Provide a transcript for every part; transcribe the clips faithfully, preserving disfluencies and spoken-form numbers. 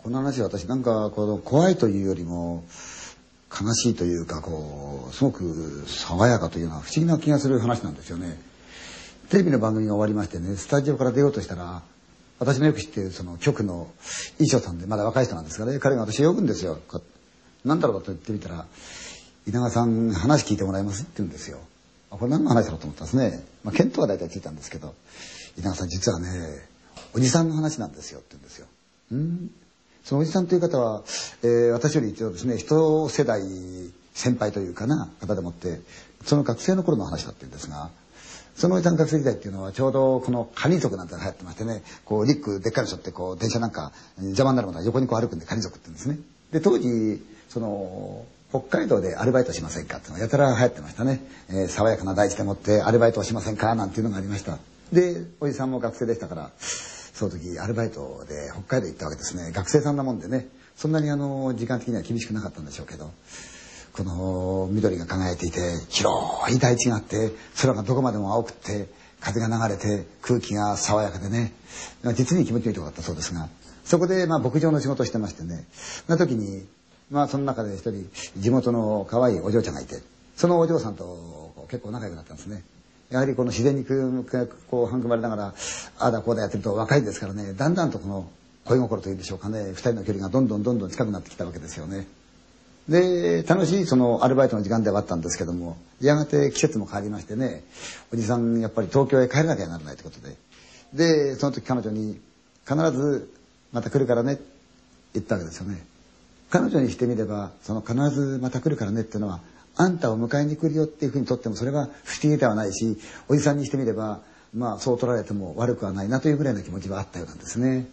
この話は私なんかこの怖いというよりも悲しいというか、こうすごく爽やかというような不思議な気がする話なんですよね。テレビの番組が終わりましてね、スタジオから出ようとしたら、私のよく知っているその局の衣装さんで、まだ若い人なんですがね、彼が私呼ぶんですよ。なんだろうと言ってみたら、稲川さん話聞いてもらえますって言うんですよ。これ何の話だろうと思ったんですね。まあ見当は大体ついたんですけど、稲川さん実はね、おじさんの話なんですよって言うんですよ。うん。そのおじさんという方は、えー、私より一応ですね、一世代先輩というかな方でもって、その学生の頃の話だって言うんですが、そのおじさん学生時代っていうのはちょうどこのカニ族なんてのが流行ってましてね、こうリックでっかいの背負ってこう電車なんか邪魔になるものは横にこう歩くんでカニ族って言うんですね。で当時その北海道でアルバイトしませんかっていうのがやたら流行ってましたね。えー、爽やかな大地でもってアルバイトをしませんかなんていうのがありました。でおじさんも学生でしたから、その時アルバイトで北海道行ったわけですね。学生さんなもんでね、そんなにあの時間的には厳しくなかったんでしょうけど、この緑が輝いていて広い大地があって、空がどこまでも青くって風が流れて空気が爽やかでね、実に気持ちのいいところだったそうですが、そこでまあ牧場の仕事をしてましてね、その時にまあその中で一人地元の可愛いお嬢ちゃんがいて、そのお嬢さんと結構仲良くなったんですね。やはりこの自然にこう育まれながらああだこうだやってると若いですからね、だんだんとこの恋心というんでしょうかね、二人の距離がどんどんどんどん近くなってきたわけですよね。で楽しいそのアルバイトの時間ではあったんですけども、やがて季節も変わりましてね、おじさんやっぱり東京へ帰らなきゃならないということで、でその時彼女に必ずまた来るからねって言ったわけですよね。彼女にしてみればその必ずまた来るからねっていうのは、あんたを迎えに来るよっていうふうにとってもそれは不思議ではないし、おじさんにしてみればまあそう取られても悪くはないなというぐらいの気持ちはあったようなんですね。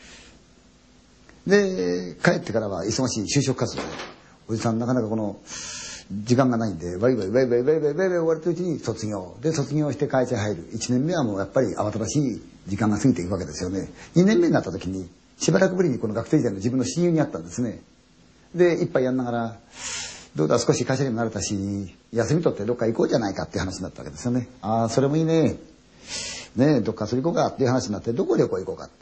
で帰ってからは忙しい就職活動で、おじさんなかなかこの時間がないんでワイワイワイワイワイワイワイワイ終われてるうちに卒業で、卒業して会社に入るいちねんめはもうやっぱり慌ただしい時間が過ぎていくわけですよね。にねんめになった時にしばらくぶりにこの学生時代の自分の親友に会ったんですね。で一杯やんながら、どうだ少し会社にも慣れたし休み取ってどっか行こうじゃないかっていう話になったわけですよね。ああそれもいいね、ねえどっか遊び行こうかっていう話になって、どこ旅行行こうかって。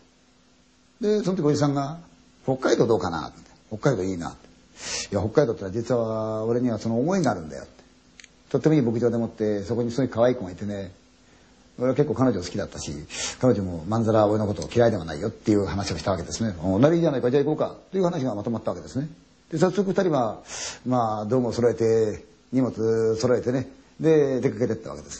でその時おじさんが北海道どうかなって、北海道いいなって、いや北海道ってのは実は俺にはその思いがあるんだよって、とってもいい牧場でもってそこにすごい可愛い子がいてね、俺は結構彼女好きだったし、彼女もまんざら俺のことを嫌いではないよっていう話をしたわけですね。おならいいじゃないか、じゃあ行こうかという話がまとまったわけですね。で早速二人はまあ道具を揃えて荷物揃えてね、で出かけてったわけです。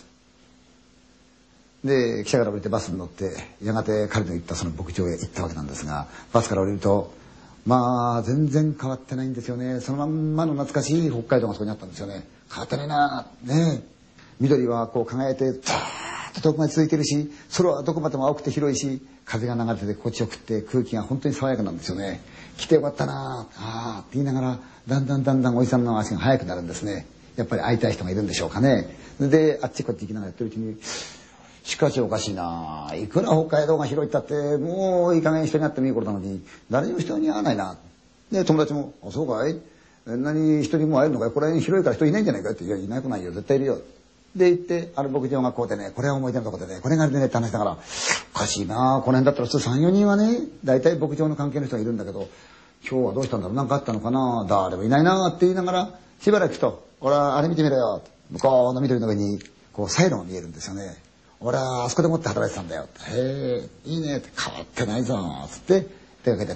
で汽車から降りてバスに乗ってやがて彼の行ったその牧場へ行ったわけなんですが、バスから降りるとまあ全然変わってないんですよね。そのまんまの懐かしい北海道がそこにあったんですよね。変わってないなね。緑はこう輝いてザーッと遠くまで続いてるし、空はどこまでも青くて広いし、風が流れてて心地よくって空気が本当に爽やかなんですよね。来てよかったなああって言いながら、だんだんだんだんおじさんの足が速くなるんですね。やっぱり会いたい人がいるんでしょうかね。であっちこっち行きながらやってるうちに、しかしおかしいな、いくら北海道が広いったってもういい加減人に会ってもいい頃なのに誰にも人に会わないな。で友達も「あそうかい、何人にも会えるのかい、これ広いから人いないんじゃないかい」って「いやいなくないよ絶対いるよ」で行って、ある牧場がこうでね、これは思い出のとこでね、これがあれでねって話だから、おかしいな、この辺だったら普通さんよにんはね大体牧場の関係の人がいるんだけど、今日はどうしたんだろう、何かあったのかな、誰もいないなって言いながらしばらくと「ほらあれ見てみろよ」向こうの緑の上にこうサイロが見えるんですよね。俺はあそこでもって働いてたんだよ。へえ、いいねって、変わってないぞつって出かけてった。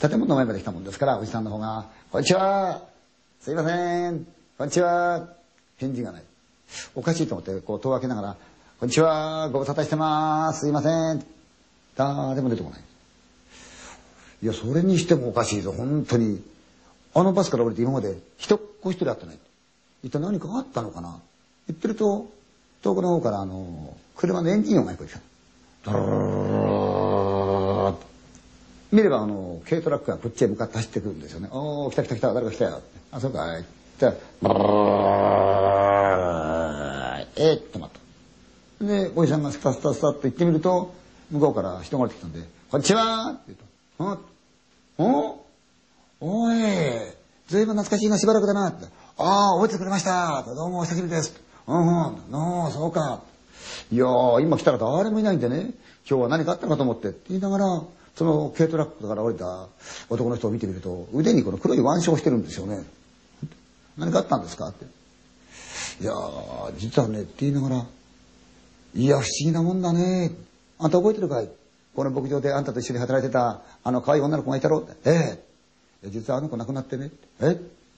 建物の前まで来たもんですから、おじさんの方が「こんにちは、すいません、こんにちは」返事がない。おかしいと思ってこう戸を開けながら「こんにちは、ご無沙汰してます、すいません」誰も出てこない。いやそれにしてもおかしいぞ本当に。あのバスから降りて今まで一っ子一人会ってない。一体何かあったのかな。言ってると遠くの方からあの車のエンジン音が聞こえてきた。ドロロロロ見ればあの軽トラックがこっちへ向かって走ってくるんですよね。おお来た来た来た、誰か来たよ。あそうかい。じゃあえー、っと待った。でおじさんがスタスタスタっと行ってみると、向こうから人が降りてきたんで「こんにちは」って言うと「うんおおいずいぶん懐かしいな、しばらくだな」って「ああ覚えてくれましたどうもお久しぶりです」うんうん、ああそうか。いや今来たら誰もいないんでね、今日は何かあったのかと思ってって言いながら、 その軽トラックから降りた男の人を見てみると、腕にこの黒い腕章をしてるんですよね。何かあったんですかって。いやー、実はね、って言いながら、いや、不思議なもんだね。あんた覚えてるかい？この牧場であんたと一緒に働いてた、あの可愛い女の子がいたろって。ええ。実はあの子亡くなってね。え？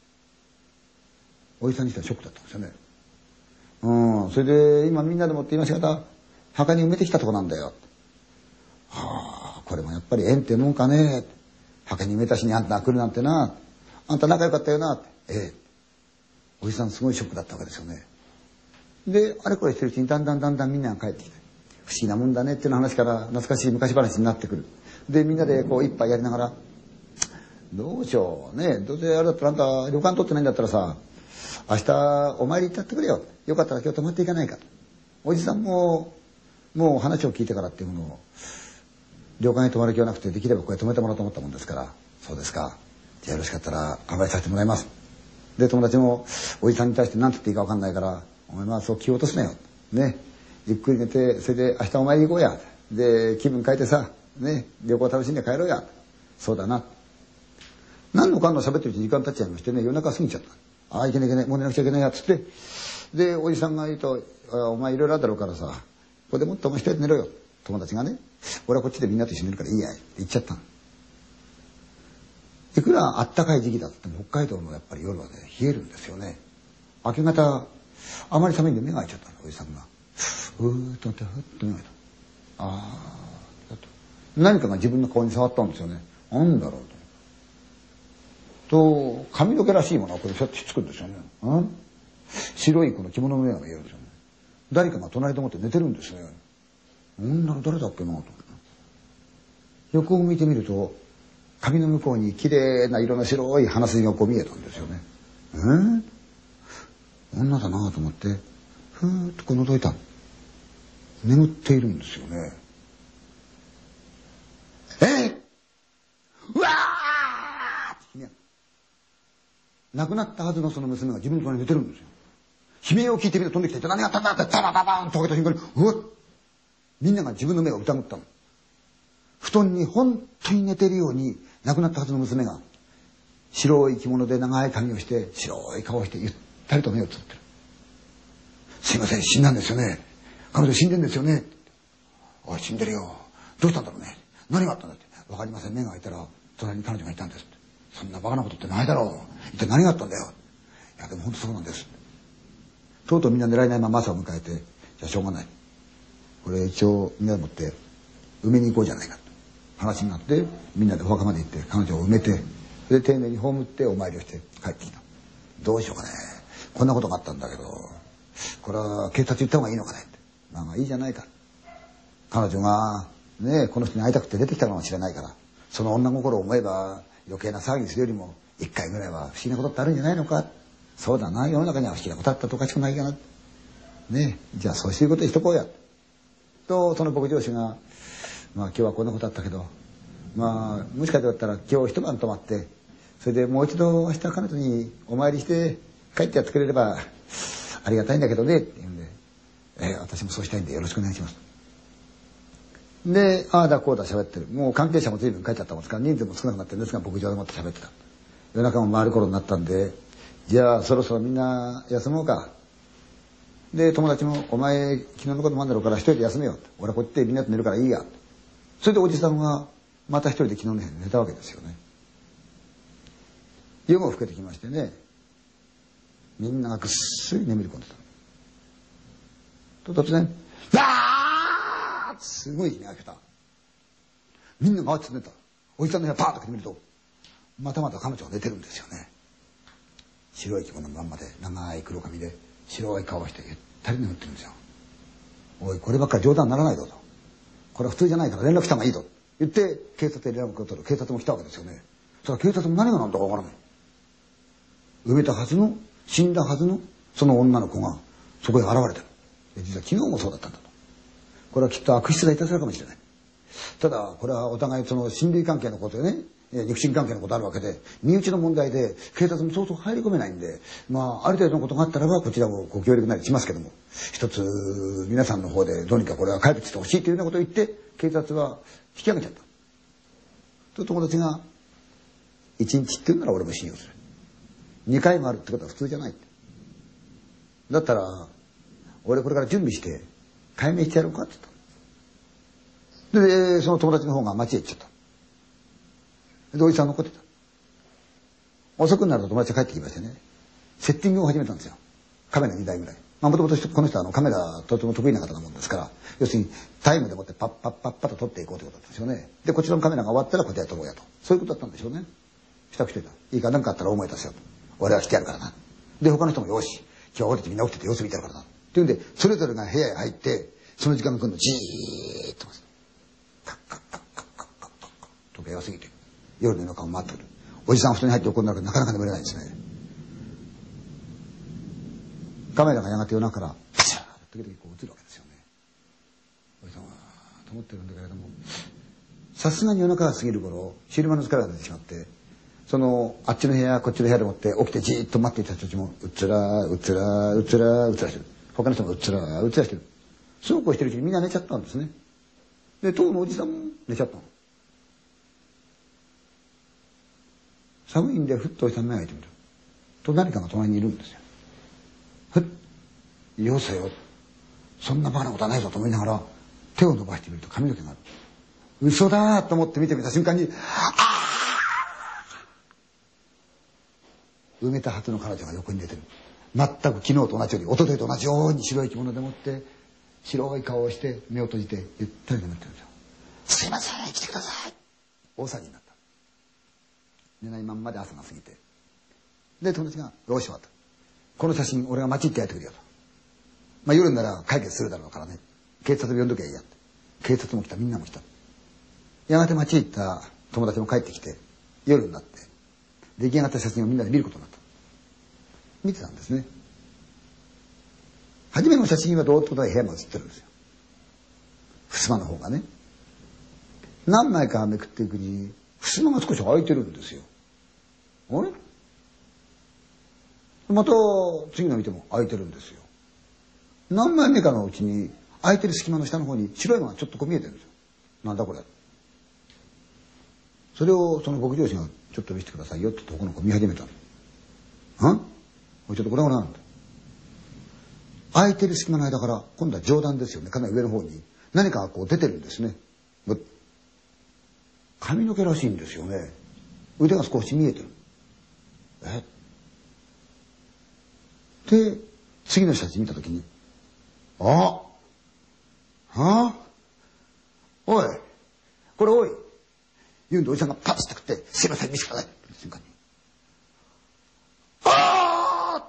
おじさんにしてはショックだったんですよね。うん。それで、今みんなでもって今し方、墓に埋めてきたとこなんだよ。はあ、これもやっぱり縁ってもんかね。墓に埋めたしにあんたが来るなんてな。あんた仲良かったよな。ええ。おじさんすごいショックだったわけですよね。で、あれこれしてるうちにだんだんだんだんみんなが帰ってきて、不思議なもんだねっていうの話から懐かしい昔話になってくる。で、みんなでこう一杯やりながら、どうしようね、どうせあれだったらあんた旅館取ってないんだったらさ、明日お参り行ってやってくれよ。よかったら今日泊まっていかないか。おじさんも、もう話を聞いてからっていうものを、旅館に泊まる気はなくて、できればここへ泊めてもらおうと思ったもんですから、そうですか。じゃあよろしかったら乾杯させてもらいます。で、友達もおじさんに対して何て言っていいか分かんないから、お前まあそう気を落とすなよ。ね。ゆっくり寝て、それで明日お参り行こうや。で、気分変えてさ、ね、旅行楽しんで帰ろうや。そうだな。何のかんの喋ってるうちに時間経っちゃいましてね、夜中過ぎちゃった。ああ、いけないいけない、もう寝なくちゃいけないや、つって。で、おじさんが言うと、お前いろいろあるだろうからさ、ここでもっとお前一人で寝ろよ。友達がね、俺はこっちでみんなと一緒に寝るからいいや、って言っちゃったの。いくらあったかい時期だっても北海道のやっぱり夜はね、冷えるんですよね。明け方、あまり寒いんで目が開いちゃったの、おじさんが。ふーっとなって、ふっと目が開いた。あー、だと。何かが自分の顔に触ったんですよね。なんだろうと。と、髪の毛らしいものがこれひょっとひっつくんですよね。うん、白いこの着物の目が見えるんですよね。誰かが隣でもって寝てるんですね。女の誰だっけなと。横を向いてみると、髪の向こうに綺麗な色の白い鼻筋がこう見えたんですよね。えー、女だなと思って、ふーっとこう覗いた。眠っているんですよね。えー、うわーって亡くなったはずのその娘が自分の隣に寝てるんですよ。悲鳴を聞いてみて飛んできて、何があったんだってザバババーンと開けた瞬間に、うわっ、みんなが自分の目を疑ったの。布団に本当に寝てるように亡くなったはずの娘が白い着物で長い髪をして白い顔をしてゆったりと目をつぶってる。すいません、死んだんですよね。彼女死んでんですよね。おい、死んでるよ。どうしたんだろうね。何があったんだって。わかりません。目が開いたら隣に彼女がいたんですって。そんなバカなことってないだろう。一体何があったんだよ。いやでも本当そうなんです。とうとうみんな狙えないまま朝を迎えて、じゃあしょうがない。これ一応みんなでもって埋めに行こうじゃないかと話になって、みんなでお墓まで行って彼女を埋めて、で丁寧に葬ってお参りをして帰ってきた。どうしようかね。こんなことがあったんだけど、これは警察行った方がいいのかねって。まあまあいいじゃないか。彼女がね、この人に会いたくて出てきたのかもしれないから、その女心を思えば余計な騒ぎするよりも一回ぐらいは不思議なことってあるんじゃないのか。そうだな、世の中には不思議なことあったとおかしくないかな。ね、じゃあそういうことにしとこうや。とその牧場主が、まあ今日はこんなことあったけど、まあもしかしたら今日一晩泊まって、それでもう一度明日彼女にお参りして帰ってやってくれればありがたいんだけどねって言うんで、えー、私もそうしたいんでよろしくお願いします。で、ああだこうだ喋ってる。もう関係者も随分帰っちゃったもんですから、人数も少なくなってるんですが、牧場でもって喋ってた。夜中も回る頃になったんで、じゃあそろそろみんな休もうか。で、友達も、お前昨日のこともあんだろうから一人で休めよ。俺はこっちでみんなと寝るからいいや。それでおじさんはまた一人で昨日の部屋に寝たわけですよね。夜も更けてきましてね、みんながぐっすり眠り込んでた。と突然、わー！すごい日が明けた。みんなが慌てて寝た。おじさんの部屋パーッと開けてみると、またまた彼女が寝てるんですよね。白い着物のまんまで、長い黒髪で、白い顔をしてゆったり眠ってるんですよ。おい、こればっかり冗談にならないぞと。これは普通じゃないから連絡した方がいいぞ。言って、警察で連絡を取る。警察も来たわけですよね。そしたら警察も何が何だかわからない。埋めたはずの、死んだはずの、その女の子が、そこへ現れてる。実は昨日もそうだったんだと。これはきっと悪質ないたずらかもしれない。ただ、これはお互いその親類関係のことでね、肉親関係のことあるわけで、身内の問題で警察もそうそう入り込めないんで、まあある程度のことがあったらばこちらもご協力なりしますけども、一つ皆さんの方でどうにかこれは解決してほしいというようなことを言って警察は引き上げちゃった。 と友達が「一日って言うなら俺も信用する。二回もあるってことは普通じゃない」って。だったら俺これから準備して解明してやろうかって言った。でその友達の方が町へ行っちゃった。でおじさん残ってた。遅くなると友達が帰ってきましてね、セッティングを始めたんですよ。カメラにだいぐらい。まあもともとこの人はあのカメラとても得意な方なもんですから、要するにタイムでもってパッパッパッパッと撮っていこうということだったんですよね。でこちらのカメラが終わったらこちらへ撮ろうやと、そういうことだったんでしょうね。したくしてた。いいか、何かあったら大声出せよと。俺は来てやるからな。で他の人もよし、今日は俺たちみんな起きてて様子見てやるからな。っていうんでそれぞれが部屋へ入ってその時間が来るのじーっとカッカッカッカッカッカッカッカッ時計が過ぎて夜の夜中を回ってくる。おじさん布団に入って横になるからなかなか眠れないんですね。カメラがやがて夜中からパシャーッと時々こう映るわけですよね。おじさんはと思ってるんだけれども、さすがに夜中が過ぎる頃昼間の疲れが出てしまって、そのあっちの部屋こっちの部屋でもって起きてじーっと待っていた人たちもうつらうつらうつらうつらしてる。他の人もうつらうつらしてる。そうこうしてるうちにみんな寝ちゃったんですね。で当のおじさんも寝ちゃったの。寒いんでふっとおじさん目が開いてみると何かが隣にいるんですよ。ふっ、よせよ、そんなバカなことはないぞと思いながら手を伸ばしてみると髪の毛がある。嘘だと思って見てみた瞬間に、あ埋めたはずの彼女が横に出てる。全く昨日と同じように一昨日と同じように白い着物でもって白い顔をして目を閉じてゆったり眠ってるんですよ。すいません来てください。大騒ぎになった。寝ないまんまで朝が過ぎて、で友達が「よしわとこの写真俺が町行ってやってくれよ」と。まあ夜なら解決するだろうからね、警察呼んどきゃいいやって。警察も来た、みんなも来た。やがて町へ行った友達も帰ってきて夜になって出来上がった写真をみんなで見ることになった。見てたんですね。初めの写真はどうってことは部屋が写ってるんですよ。襖の方がね。何枚かめくっていくうちに襖が少し開いてるんですよ。あれまた次の見ても開いてるんですよ。何枚目かのうちに開いてる隙間の下の方に白いのがちょっとこう見えてるんですよ。なんだこれ。それをその牧場主がちょっと見せてくださいよって言ってこの子見始めたの。んおいちょっとこれは何だ。開いてる隙間の間から今度は上段ですよね。かなり上の方に何かがこう出てるんですね。髪の毛らしいんですよね。腕が少し見えてる。えで次の人たち見た時に「あはあおいこれおい」言うんでおじさんがパッと食って「すいません見せてください」って瞬間に「ああ!」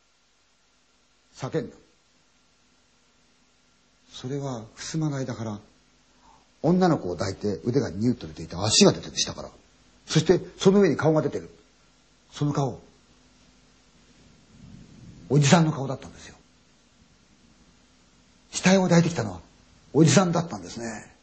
叫んだ。それは襖の間から女の子を抱いて腕がニュッと出ていて足が出てる下から、そしてその上に顔が出てる。その顔おじさんの顔だったんですよ。死体を抱いてきたのはおじさんだったんですね。